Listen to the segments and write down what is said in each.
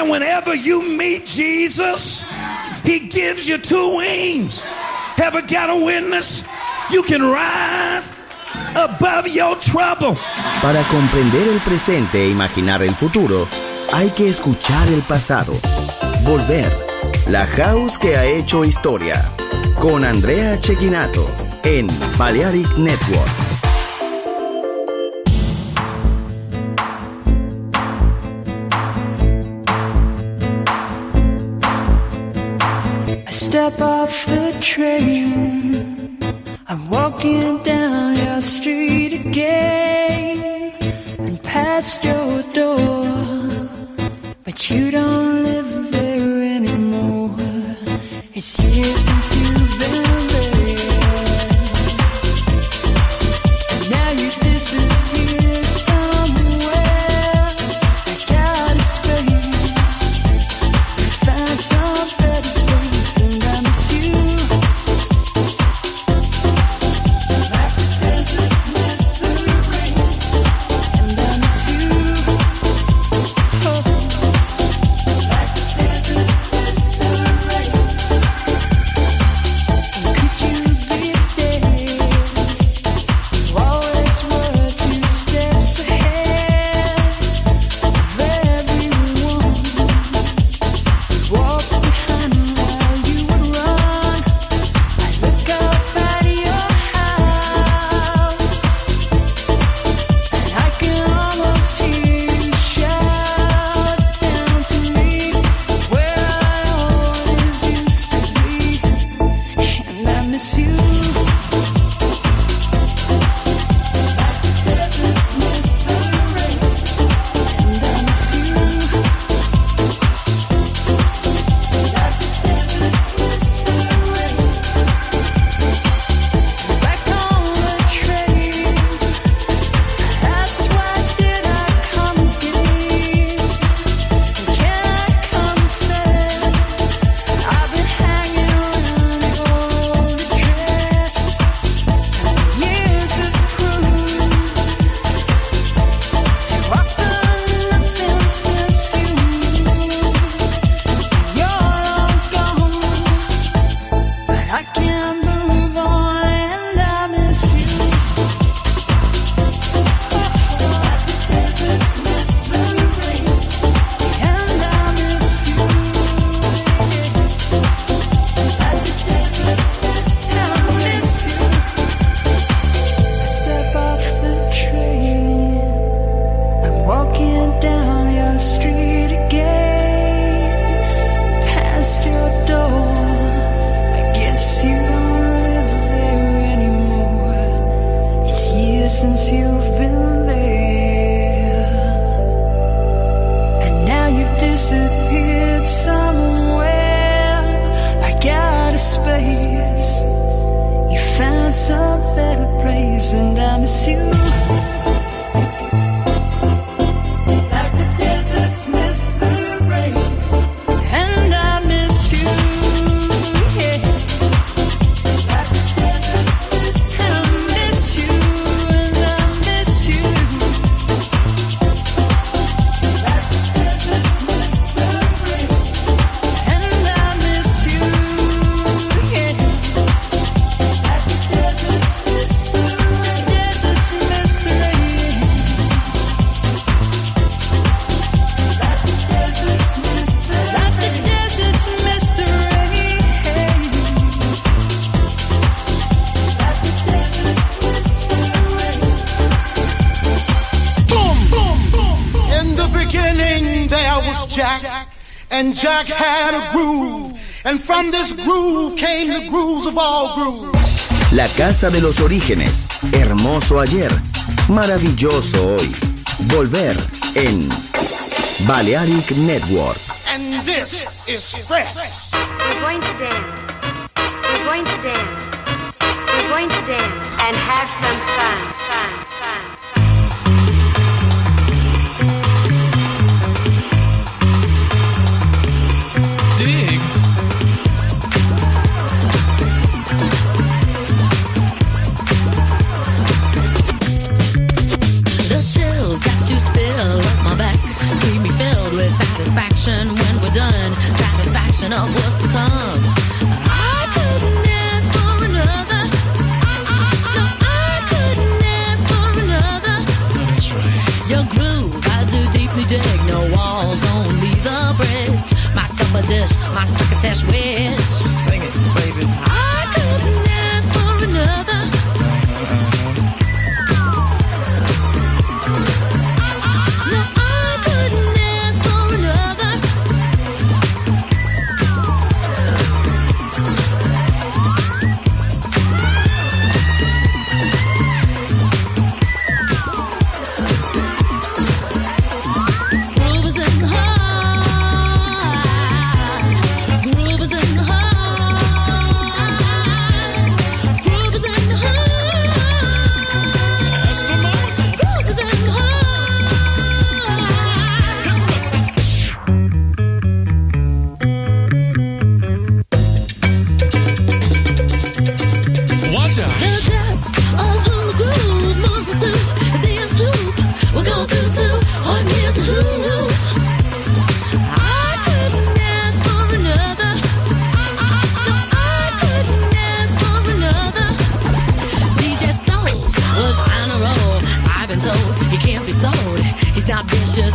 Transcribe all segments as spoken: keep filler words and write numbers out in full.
And whenever you meet Jesus, he gives you two wings. Ever got a witness? You can rise above your trouble. Para comprender el presente e imaginar el futuro, hay que escuchar el pasado. Volver. La house que ha hecho historia. Con Andrea Cecchinato en Balearic Network. I step off the train. I'm walking down your street again and past your door, but you don't live there anymore. It's years since you've been there, and now you disappeared somewhere. I got a space, you found some better place, and I miss you. Like the deserts miss the rain, and I miss you. Oh, like the deserts miss the rain. Could you be there? You always were two steps ahead of everyone. Walk behind while you would run. I look up at your house, and I can almost hear you shout down to me where I always used to be, and I miss you. Like the deserts miss the rain, and I miss you. Like the deserts miss the rain. Back on the train, that's why did I come again? Can I confess, I've been hanging around your old address. Years have proved too often nothing since you moved. You're long gone, but I can't move on, and I miss you. Like the deserts miss the rain, and I miss you. Like the deserts miss, and I miss you. I step off the train. I'm walking down your street again, past your door. I guess you don't live there anymore. It's years since you've been there, and now you've disappeared somewhere. I got a space, you found some better place, and I miss you. Like the deserts miss the rain, and I miss you. Yeah. Like the deserts miss, and I miss you, and I miss you. Like the deserts miss the rain, and I miss you. Yeah. Like the deserts miss the rain, deserts miss the rain. Like the deserts miss the rain, like the deserts miss the rain. Like the deserts miss the rain. Boom, boom, boom. In the beginning there was Jack, and Jack had a groove, and from this groove came the grooves of all grooves. La casa de los orígenes. Hermoso ayer. Maravilloso hoy. Volver en Balearic Network. And this is fresh. We're going to dance. We're going to dance. We're going to dance and have some fun. Fun, fun. Dig. The chills that you spill up my back keep me filled with satisfaction.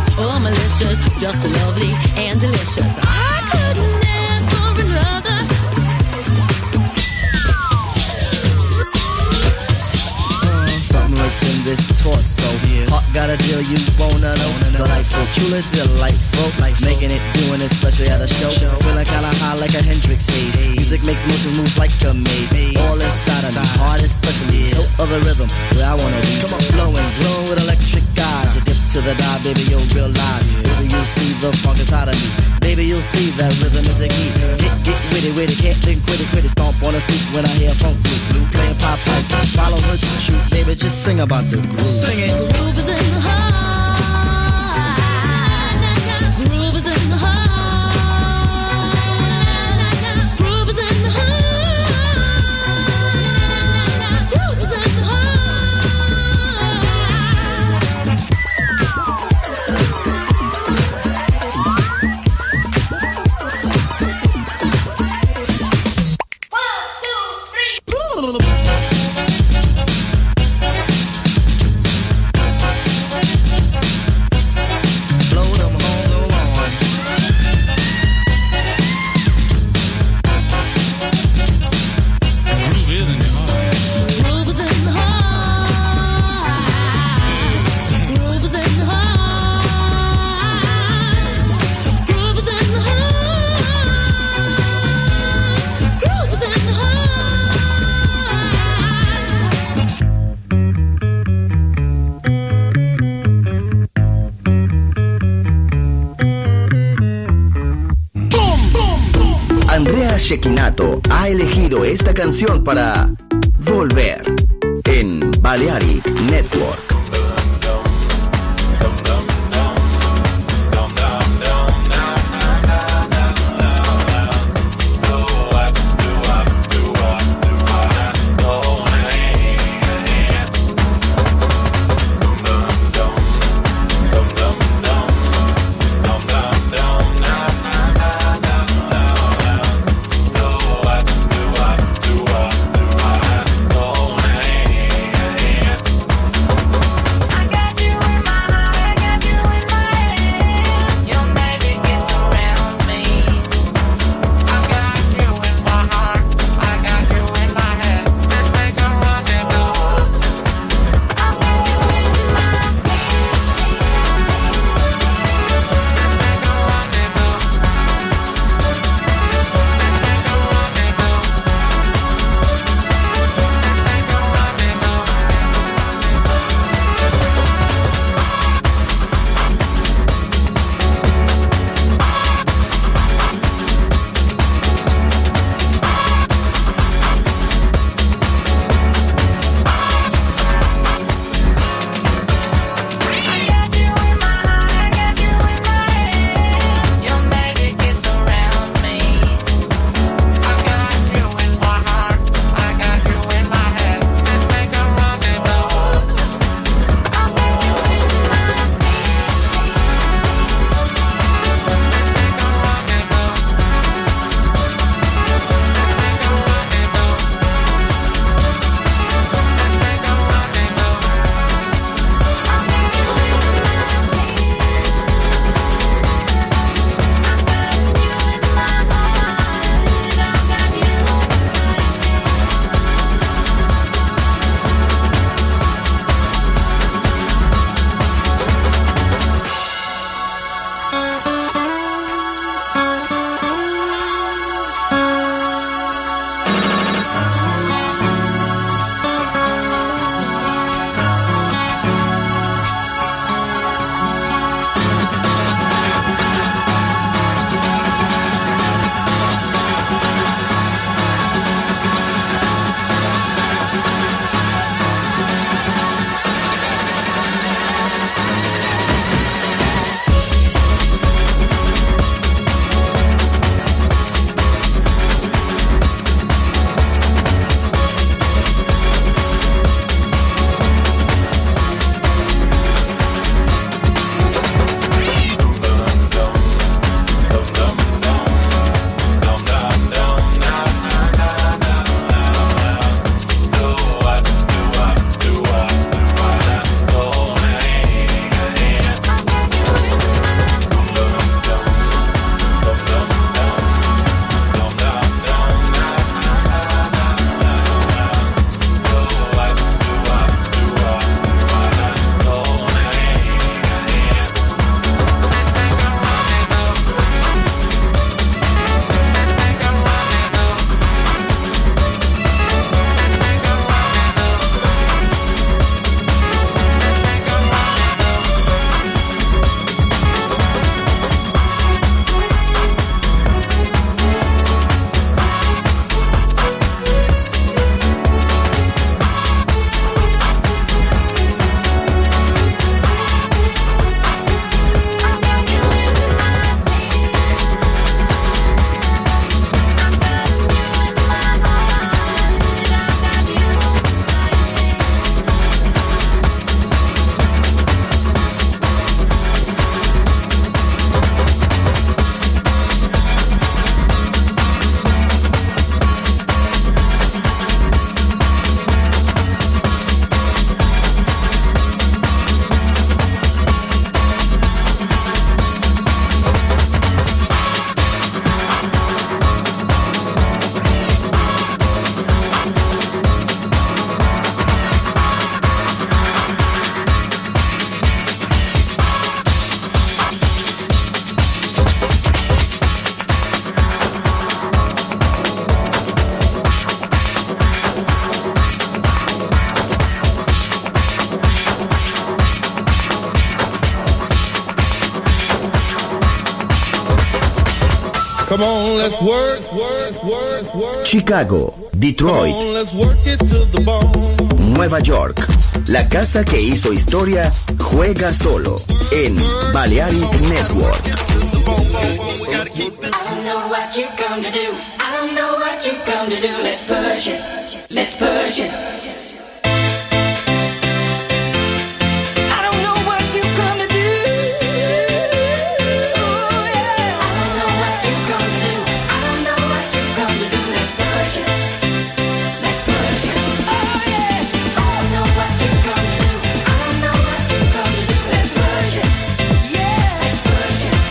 oh malicious, just lovely and delicious. I couldn't ask for another. Something lurks in this torso. Yeah. Heart got a deal you wanna know. Delightful, truly delightful. Life making it, doing it, especially at a show. show. Feeling kinda high like a Hendrix haze. Hey. Music makes motion moves like a maze. Hey. All inside of me, heart especially. Hilt of the rhythm, where I wanna be. Come on, flowing, glowing with electric eyes. You dip to the dive, baby, you'll realize. Yeah. Baby, you'll see the funk inside of me. Baby, you'll see that rhythm is a key. Get, get witty, witty, can't think, quit it, quit it. Stomp on the street when I hear funk blue, blue playing pop pipe. Follow her to shoot, baby, just sing about the groove. Sing it. The groove is in the heart. The groove is in the heart. Groove is in the heart. Groove is in the heart. Andrea Cecchinato ha elegido esta canción para Volver en Balearic Network. Come on, let's work, work, work, work. Chicago, Detroit, Come on, let's work it to the bone. Nueva York. La casa que hizo historia juega solo en Balearic Network. I don't know what you come to do. I don't know what you come to do. Let's push it. Let's push it. I don't know what you come to do. Yeah. I don't know what you come to do. I don't know what you come to do. Let's push it. Let's push it. Oh yeah. I don't know what you come to do. I don't know what you come to do. Let's push it. Yeah. Let's push it.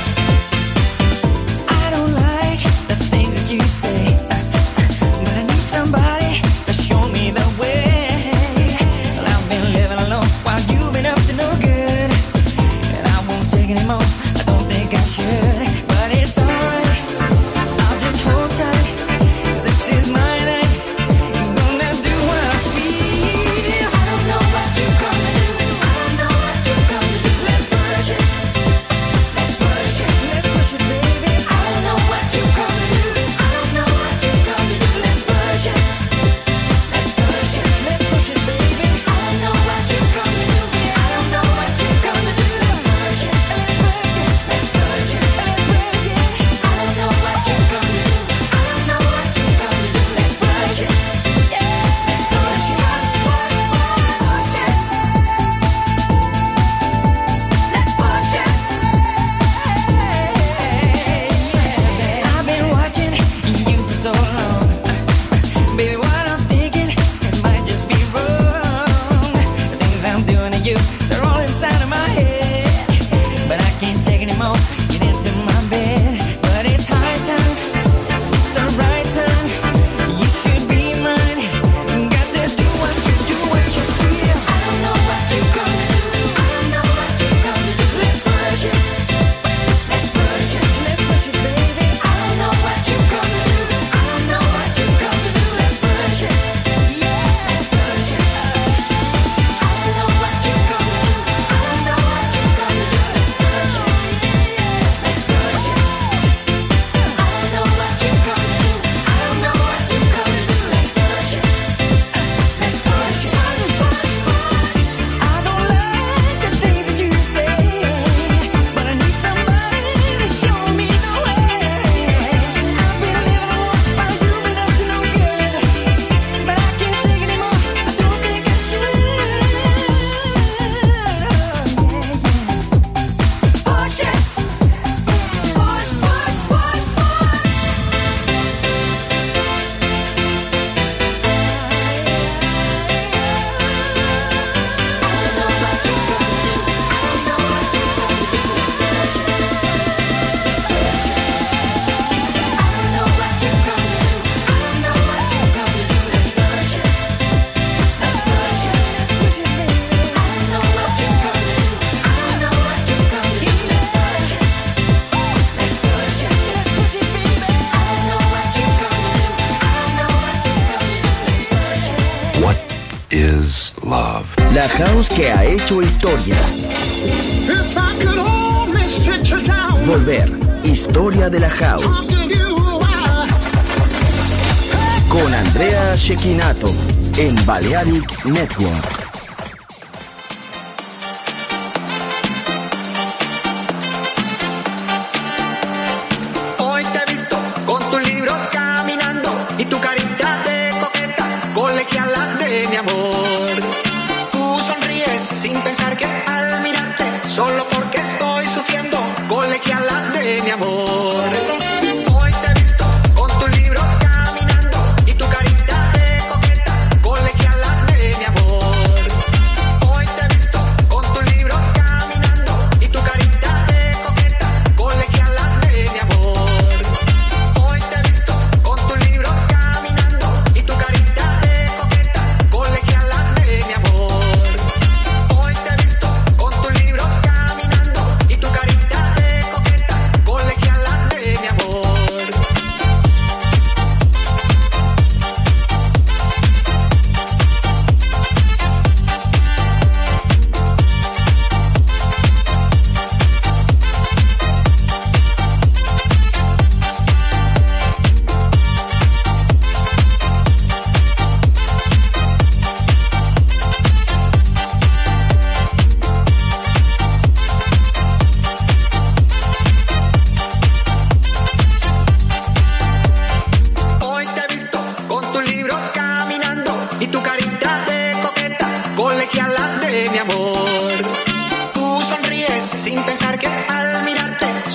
I don't like the things that you say, but I need somebody to show me the way. Well, I've been living alone while you've been up to no good, and I won't take any more. I don't think I should, but it's alright. I'll just hold tight, 'cause this is my night. I'm gonna do what I feel. I don't know what you come to do. I don't know what you come to do. Let's push it. Let's push it. Let's push it, baby. I don't know what you come to do. I don't know what you come to do. Let's push it. Let's push it. Let's push it, baby. I don't know what you come to do. I don't know what you come to do. Let's push it. Let's push it. Let's push it. Let's push it. I don't know what you come to do. I don't know what you come to do. Let's push it. Yeah. Let's push it. Push, push, push it. Let's push it. I've been watching you for so long. Baby, what I'm thinking, it might just be wrong. The things I'm doing to you, they're all inside of my head. But I can't take any more. Get into my bed. But it's high time. It's the right time. You should be mine. Got to do what you do, what you feel. I don't know what you come to do. I don't know what you come to do. Let's push it. Let's push it. Let's push it, baby. I don't know what you come to do. I don't know what you come to do. Let's push it. Yeah. Let's push it. I don't know what you come to do. I don't know what you come to do. Let's push it. Let's push it. I don't know what you come to do. I don't know what you come to do. Let's push it. Let's push it. I don't like the things that you say, but I need somebody to show me the way. I've been living alone while you've been up to no good, but I can't take any more. I don't think I should. Push it. Push, push, push, push. What is love? La house que ha hecho historia. If I could only sit you down, Volver. Historia de la house. talk to you a while. Con Andrea Cecchinato en Balearic Network. Hoy te he visto con tus libros caminando y tu carita de coqueta, colegiala de mi amor. Tú sonríes sin pensar que al mirarte, solo porque estoy sufriendo, colegiala de mi amor. Hoy te he visto con tus libros caminando y tu carita de coqueta, colegiala de mi amor.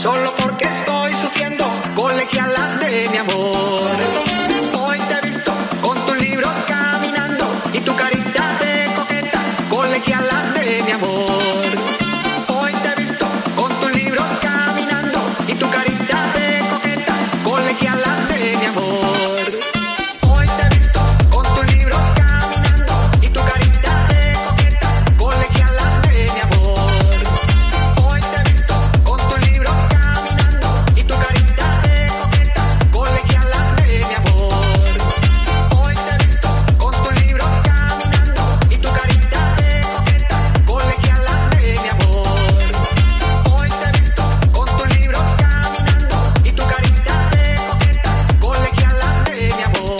solo porque estoy sufriendo colegiala de mi amor. Hoy te he visto con tu libro caminando y tu carita de coqueta, colegiala de mi amor. Hoy te he visto con tu libro caminando y tu carita de coqueta, colegiala de mi amor. Hoy te he visto con tu libro caminando y tu carita de coqueta, colegiala de mi amor. Hoy te he visto con tu libro caminando y tu carita de coqueta, colegiala de mi amor. Hoy te he visto con tu libro caminando y tu carita de coqueta, colegiala de mi amor. Hoy te he visto con tu libro caminando y tu carita de coqueta, colegiala de mi amor.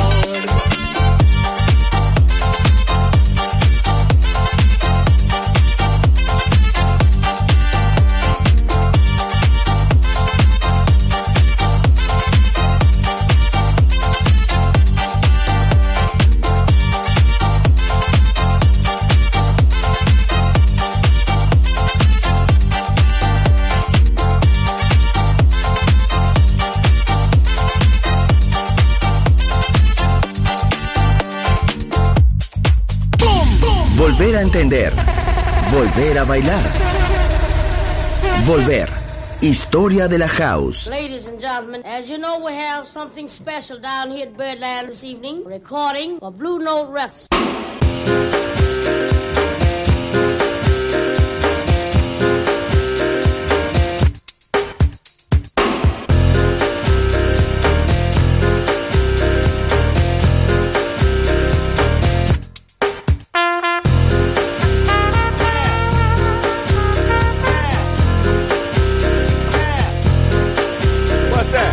Volver a entender. Volver a bailar. Volver. Historia de la house. Ladies and gentlemen, as you know, we have something special down here at Birdland this evening. Recording for Blue Note Records. What's that?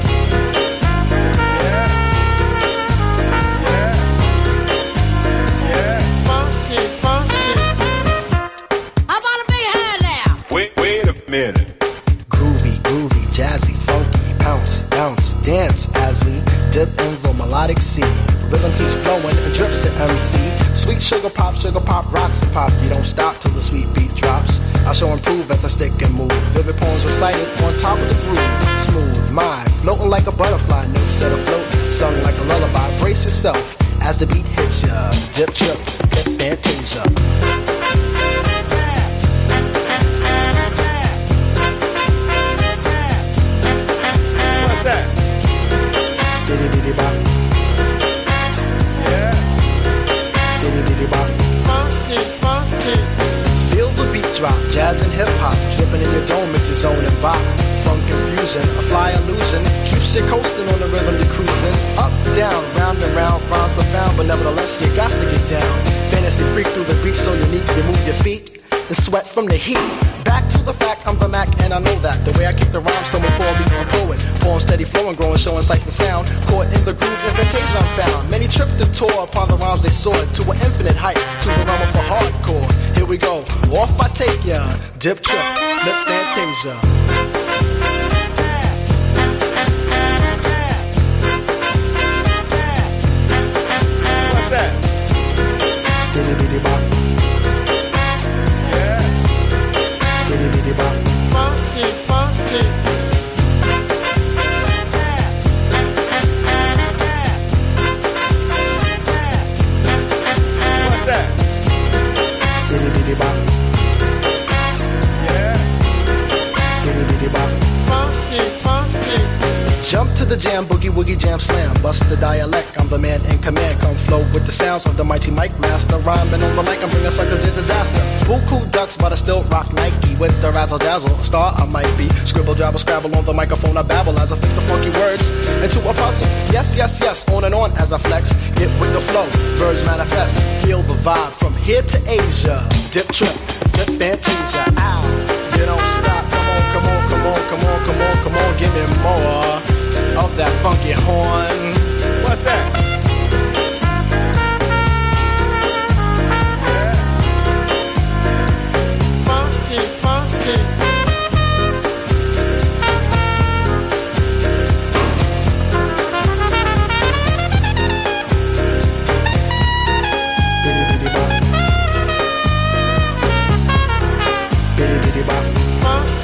Funky, funky. How about a big hand now? Wait, wait a minute. Groovy, groovy, jazzy, funky, bounce, bounce, dance as we dip in the melodic sea. Rhythm keeps flowing and drips to M C. Sweet sugar pop, sugar pop, rocks and pop. You don't stop till the sweet beat drops. I shall improve as I stick and move. Vivid poems recited on top of the groove. Smooth mind, floating like a butterfly. Notes set afloat, sung like a lullaby. Brace yourself as the beat hits ya. Dip, trip, flip, fantasia. What's that? Diddy diddy bop. Yeah. Diddy diddy bop. Funky, funky. Feel the beat drop, jazz and hip hop, dripping in your dome, it's your zone and bop. Funk confusion, a fly illusion, keeps you coasting on the rhythm you're cruising. Up, down, round and round, rhymes profound, but nevertheless you got to get down. Fantasy freak through the beat so unique, you move your feet and sweat from the heat. Back to the fact, I'm the Mac and I know that. The way I kick the rhyme, someone call me a poet. Poem steady flowing, growing, showing sights and sound. Caught in the groove, invitation I'm found. Many tripped and tore upon the rhymes they soared to an infinite height, to the realm of the hardcore. Here we go, off I take ya. Dip trip, lip fantasia. What's that? Diddy diddy bop. Yeah. Diddy diddy bop. Funky, funky. What's that? Diddy diddy bop. Yeah. Diddy diddy bop. Funky, funky. Jump to the jam, boogie woogie jam slam. Bust the dialect, I'm the man in command. Come flow with the sounds of the mighty mic master. Rhyming on the mic, I'm bringing suckers to disaster. Buku ducks, but I still rock Nike. With the razzle dazzle, star I might be. Scribble, jabble, scrabble on the microphone, I babble as I fix the funky words into a puzzle. Yes, yes, yes, on and on as I flex. Get with the flow, birds manifest. Feel the vibe from here to Asia. Dip trip, flip fantasia. Ow, you don't stop. Come on, come on, come on, come on, come on, come on, give me more of that funky horn. What's that? Yeah. Funky, funky. Biddy biddy bop. Biddy biddy bop. Funky.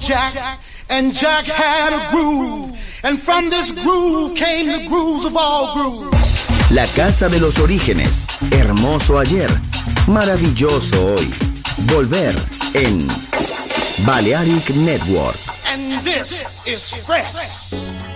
Jack, and Jack had a groove, and from this groove came the grooves of all grooves. La casa de los orígenes, hermoso ayer, maravilloso hoy. Volver en Balearic Network. And this is fresh.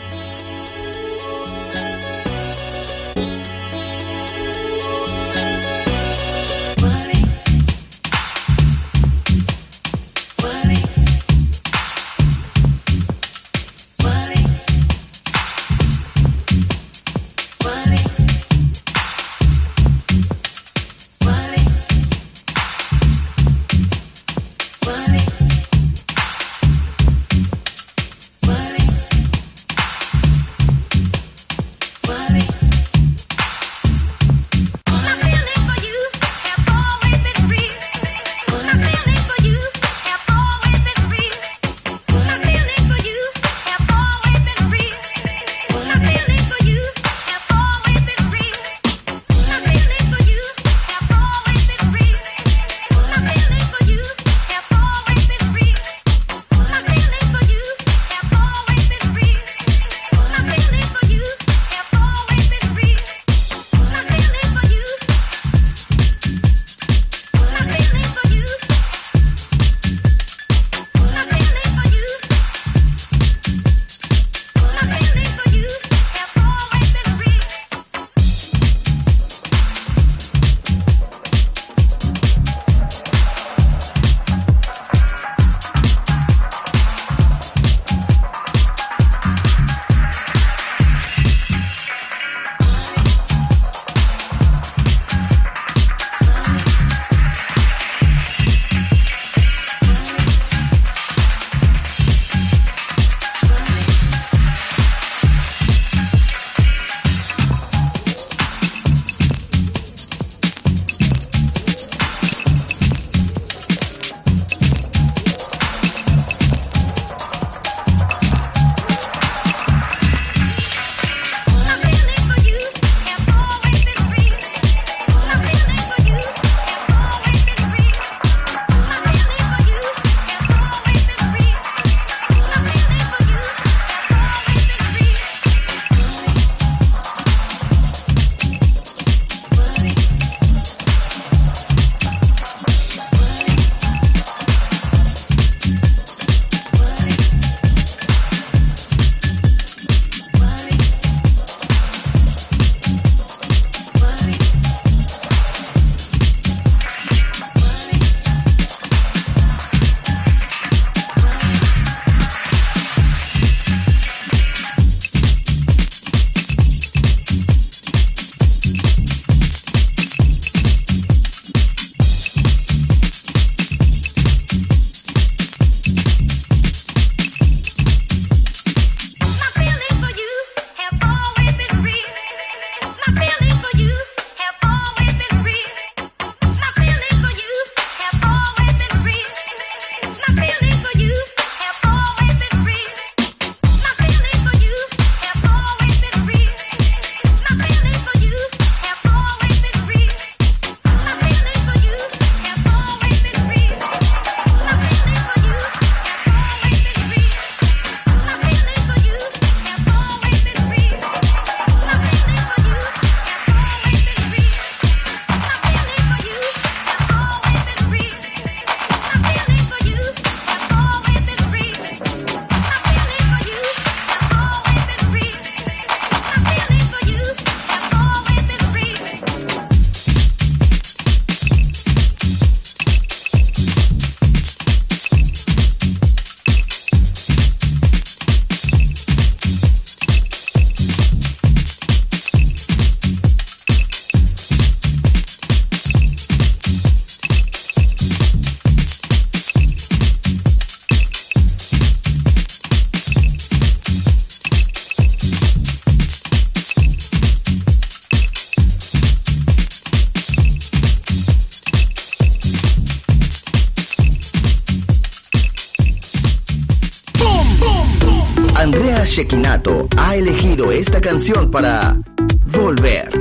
Andrea Cecchinato ha elegido esta canción para Volver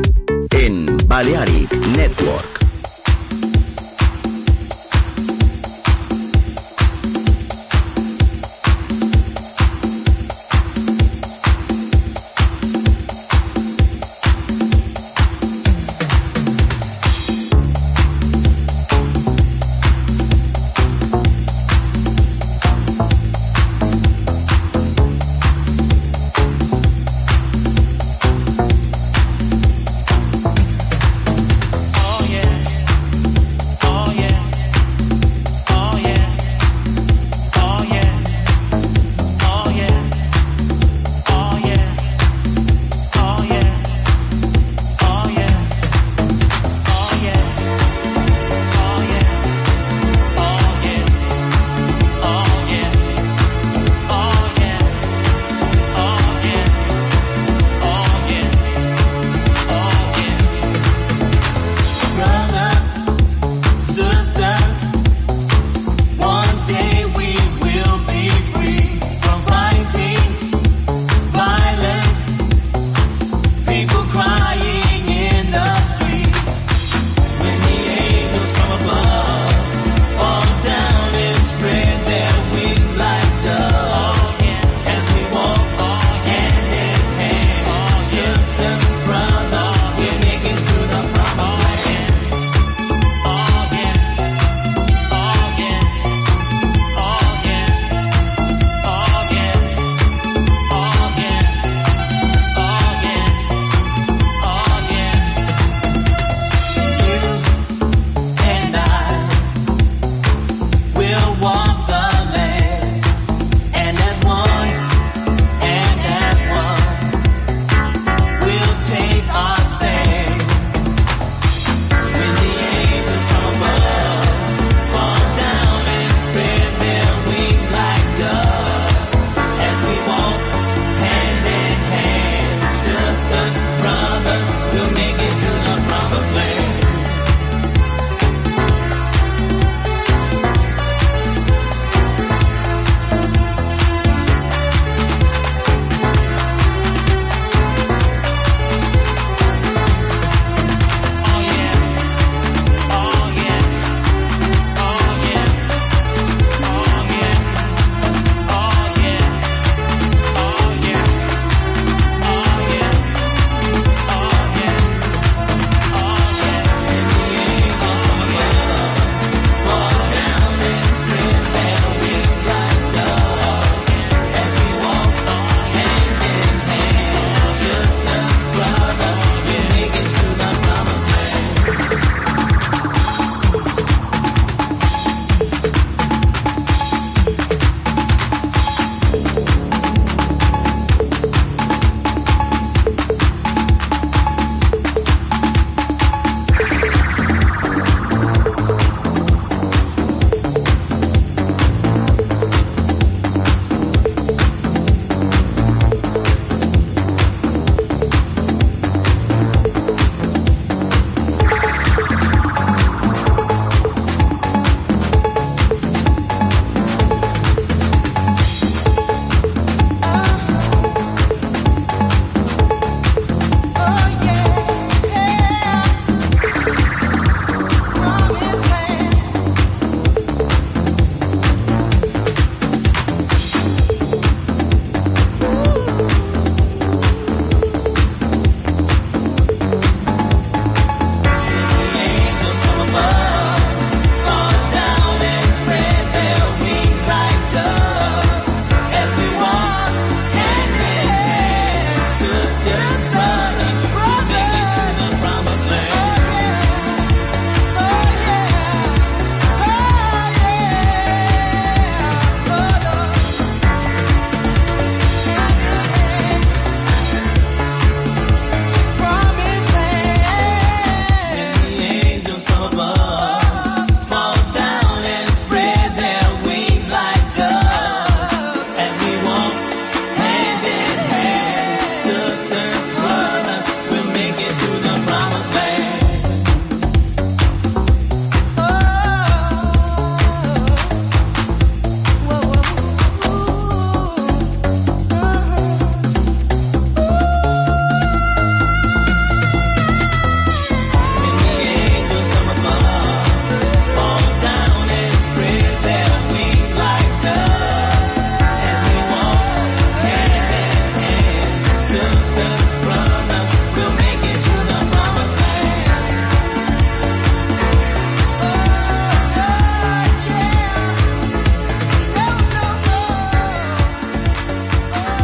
en Balearic Network.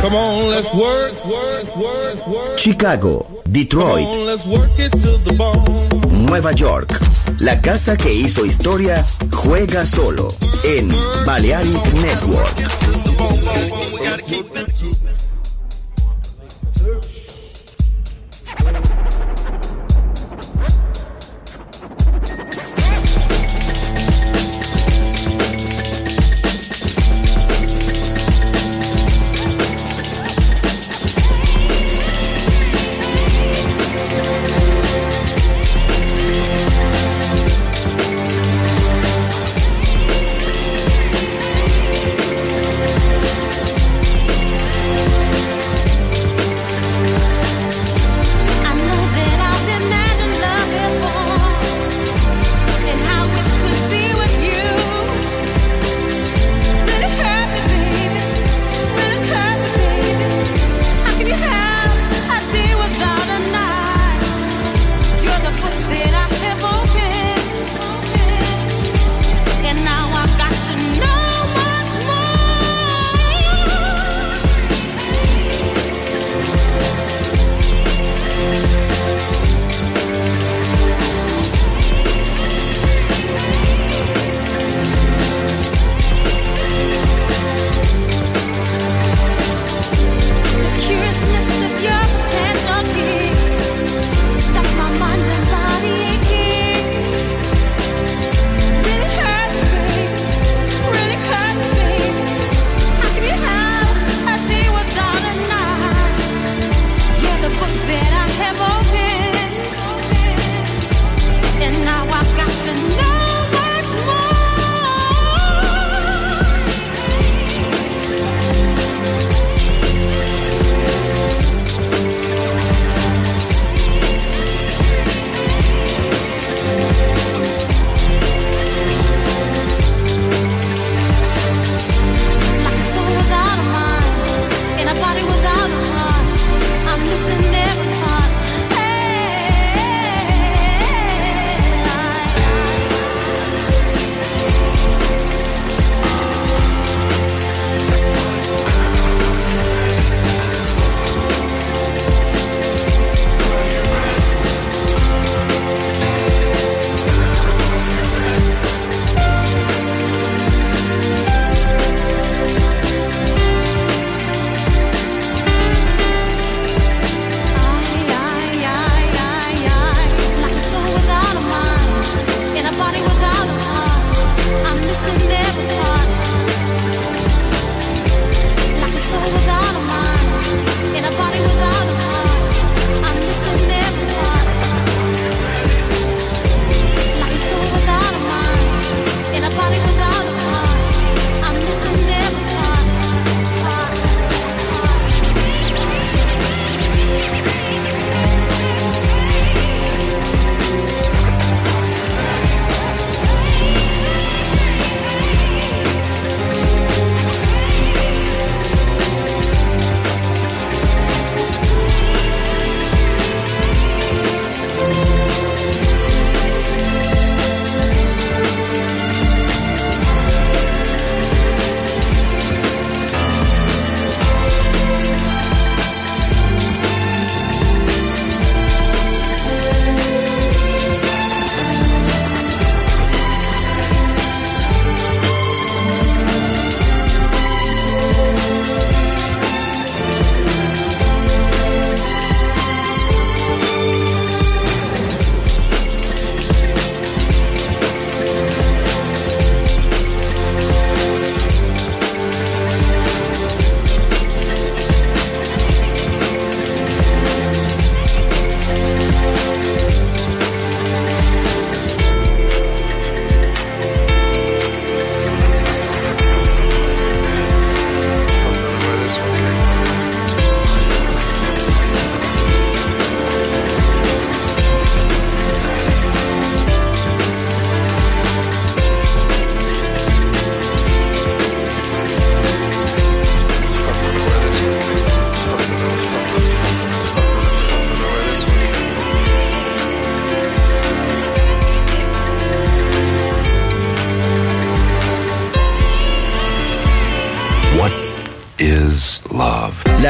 Come on, let's work, work, work, work. Chicago, Detroit, Come on, let's work it to the bone. Nueva York. La casa que hizo historia juega solo en Balearic Network. Thank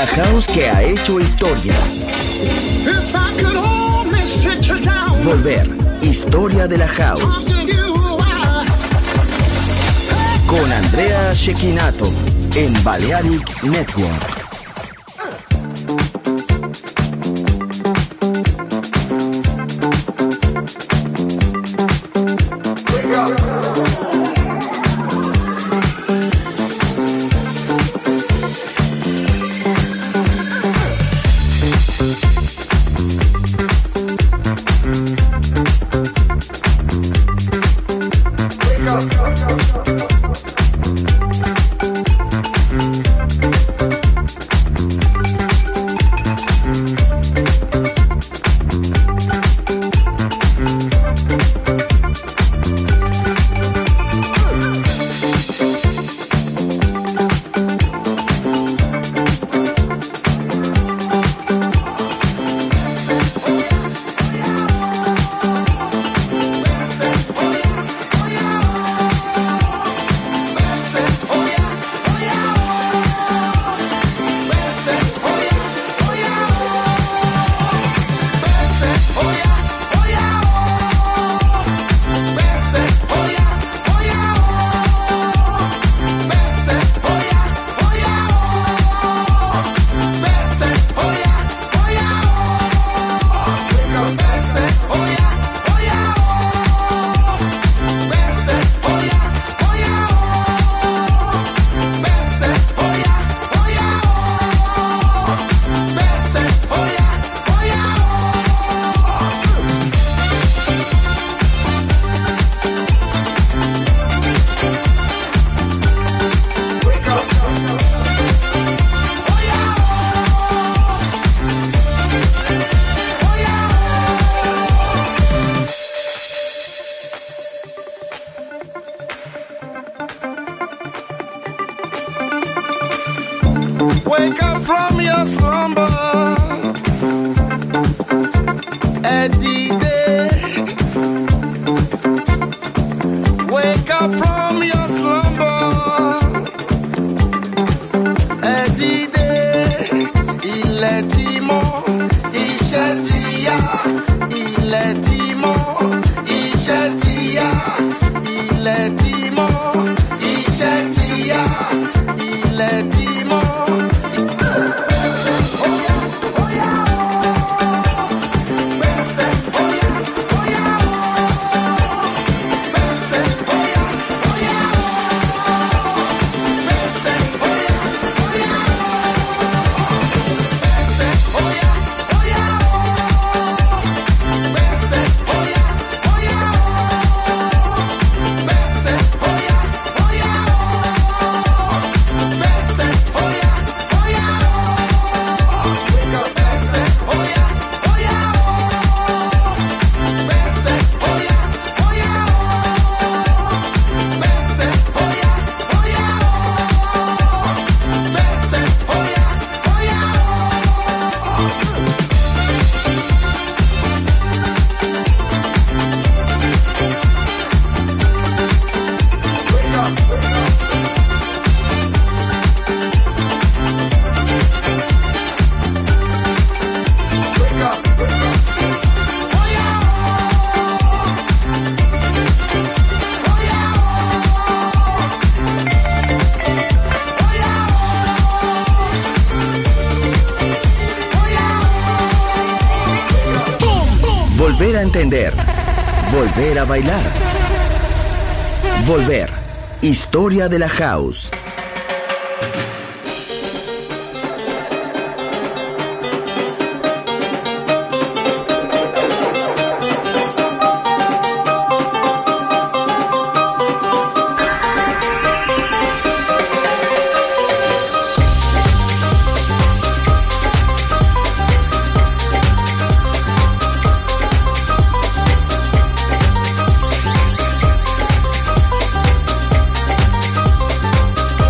La house que ha hecho historia. If I could only sit you down, Volver, historia de la house. talk to you, I, Con Andrea Cecchinato en Balearic Network. Wake up from your slumber, Eddie Day. Wake up from your slumber, Eddie Day. Il est timon, il tia, il est timon, il tia, il est timon, il tia, il est timon. Volver a entender. Volver a bailar. Volver. Historia de la house. Wake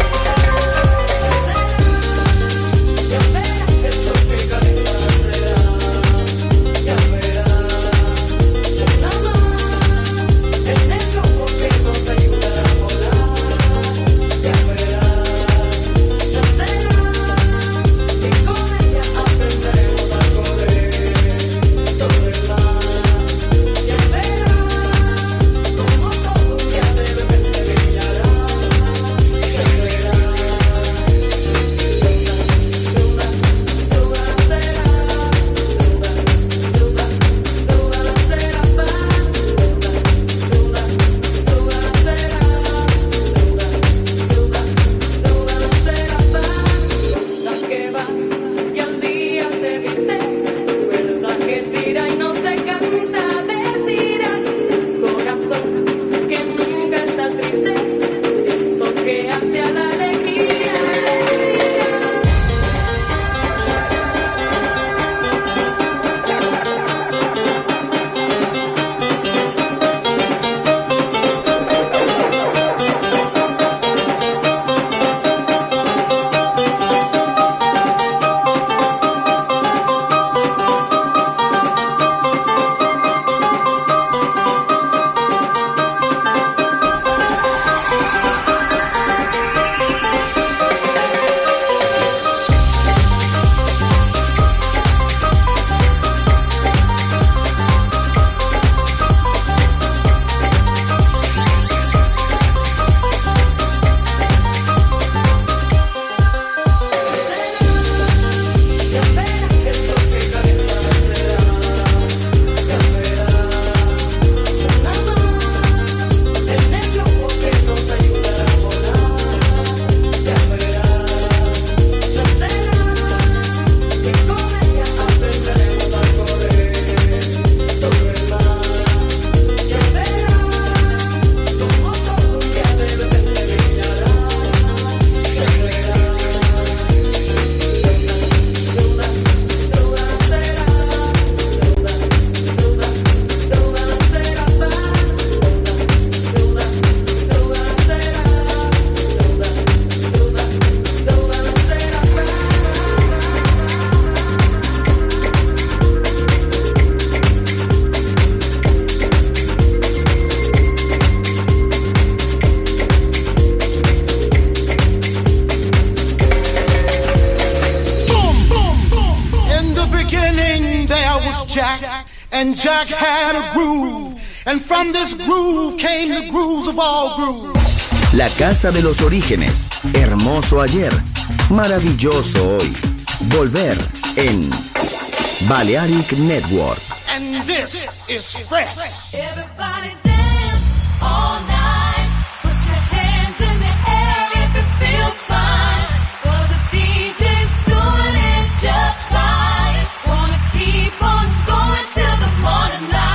Jack, and Jack had a groove, and from this groove came the grooves of all grooves. La casa de los orígenes, hermoso ayer, maravilloso hoy. Volver en Balearic Network. And this is fresh. Everybody dance all night. Put your hands in the air if it feels fine. 'Cause the D J's doing it just right. Wanna keep on going till the morning light.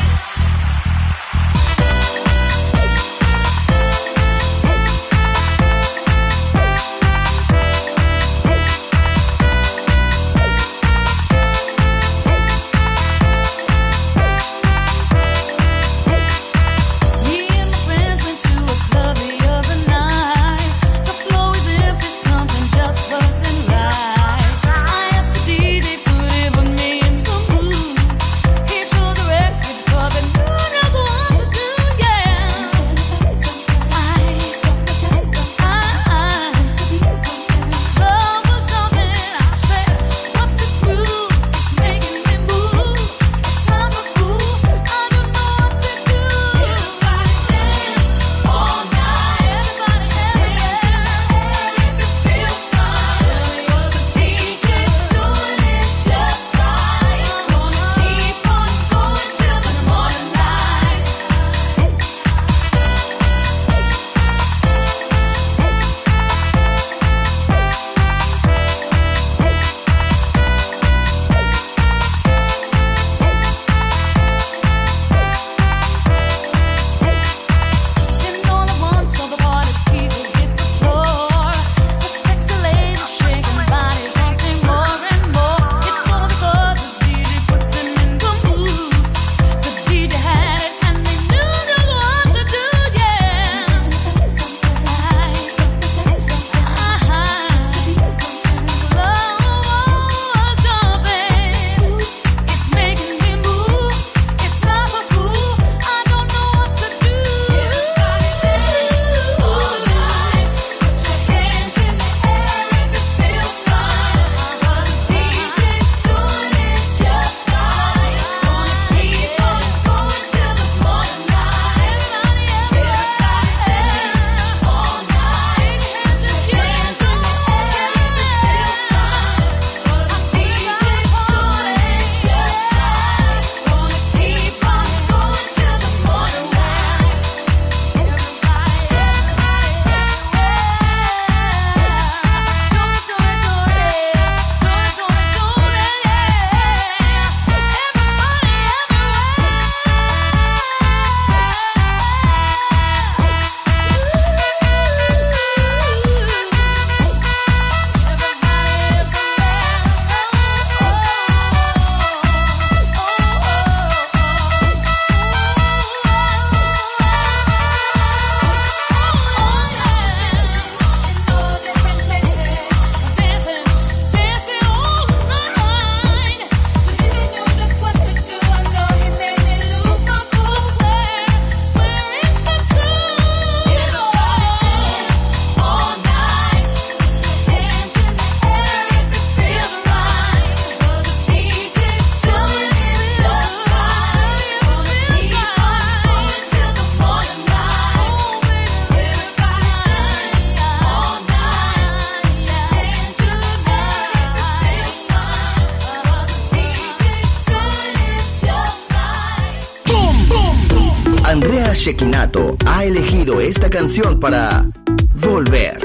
Andrea Cecchinato ha elegido esta canción para Volver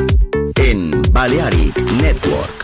en Balearic Network.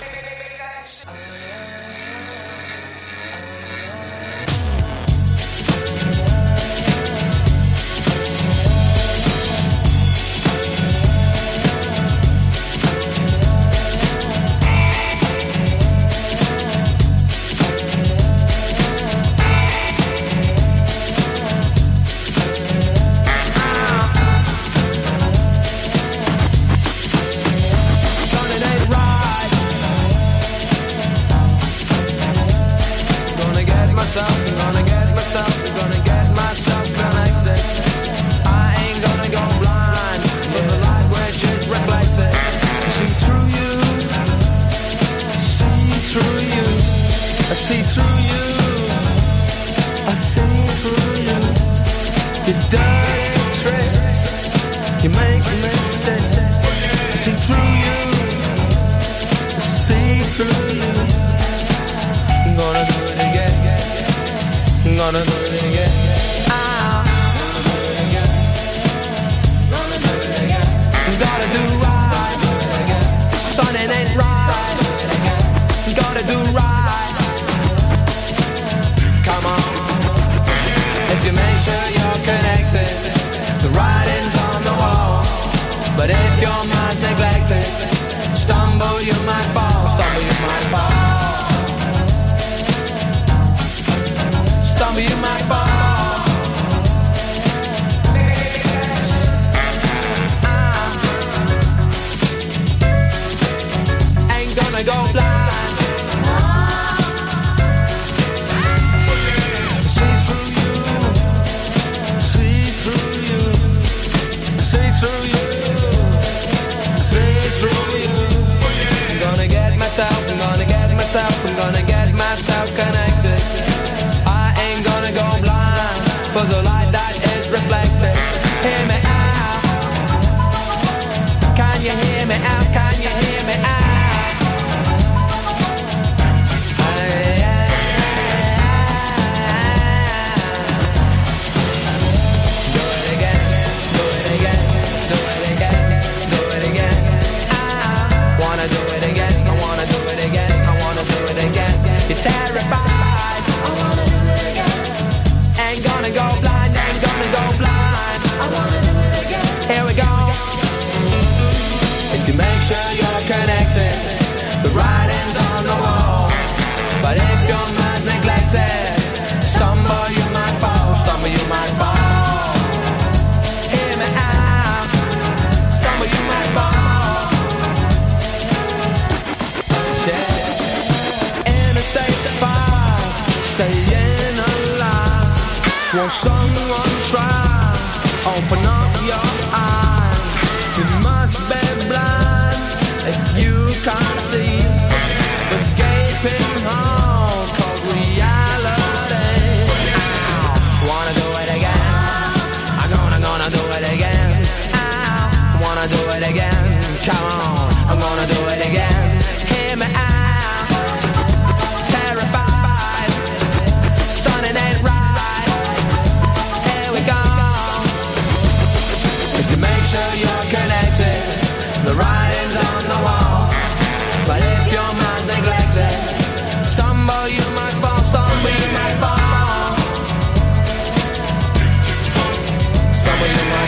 See through you. gonna do it again. Ah. Gotta do right. Son, it ain't right. Gotta do right. Come on. If you make sure you're connected, the writing's on the wall. But if your mind's neglected, stumble you might fall. Stumble you might fall. Stumble you might fall. Gonna go blind. See through you, see through you, see through you, see through you. I'm gonna get myself, I'm gonna get myself, I'm gonna get myself connected. I ain't gonna go blind for the light that is reflected. Hear me out. Can you hear me out? Can you hear me out? You're terrified. I wanna do it again. Ain't gonna go blind, ain't gonna go blind. I wanna do it again. Here we go. If you make sure you're connected, the writing's on the wall. But if your mind's neglected, stumble you might fall, stumble you might fall. Hear me out. Stumble you might fall. Yeah. Staying alive. Won't someone try? Open up your eyes. You must be blind if you can't see the gaping hole called reality. Ow. Wanna do it again? I'm gonna, gonna do it again. Ow. Wanna do it again? Come on, I'm gonna do it again. Hear me out. It ain't right. Here we go. If you make sure you're connected, the writing's on the wall. But if your mind's neglected, stumble you might fall, stumble you might fall. Stumble you might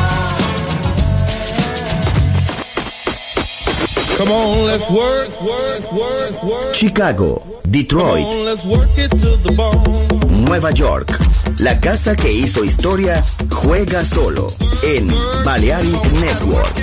fall. Come on, let's work, work, work, work. Chicago, Detroit, Come on, let's work it to the bone. Nueva York. La casa que hizo historia juega solo en Balearic Network.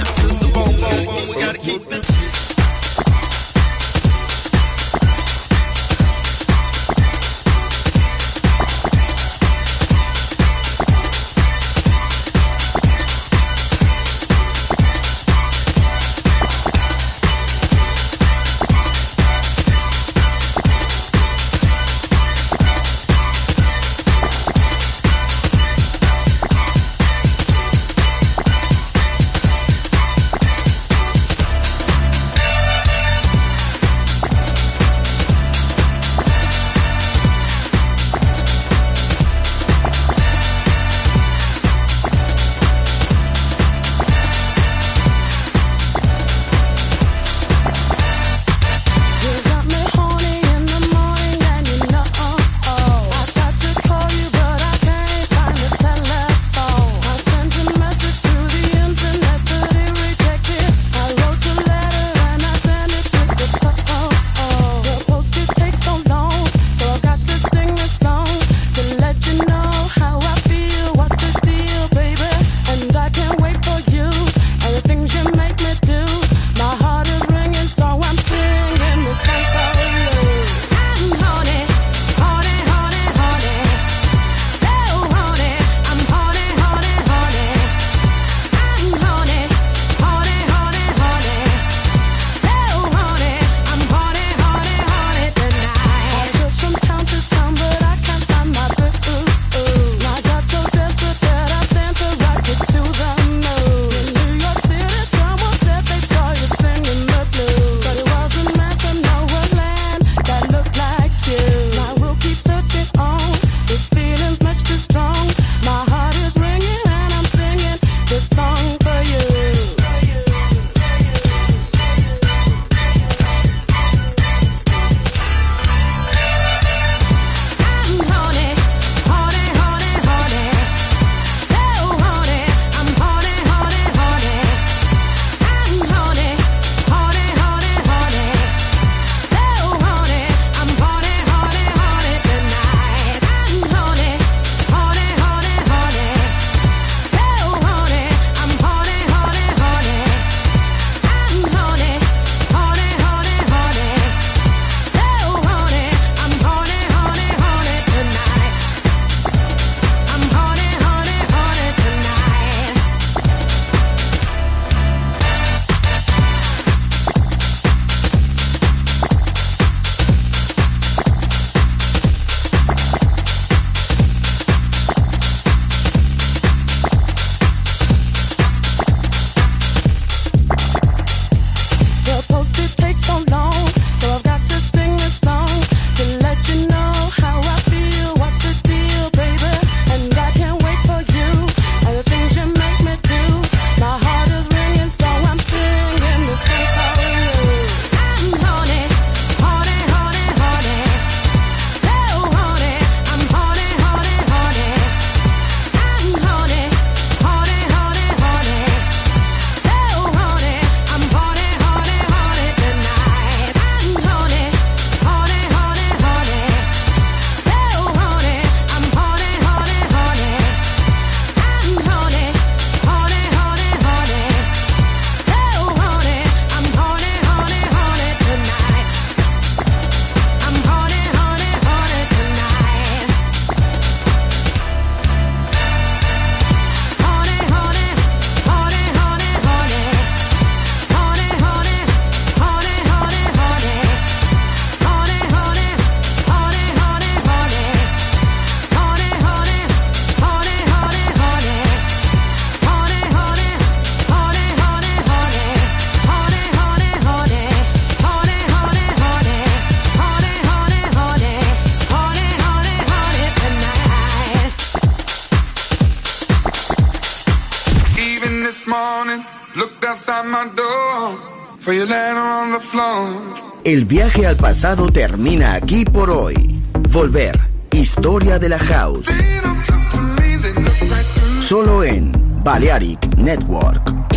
this morning, looked outside my door for your letter on the floor. El viaje al pasado termina aquí por hoy. Volver, historia de la house. Solo en Balearic Network.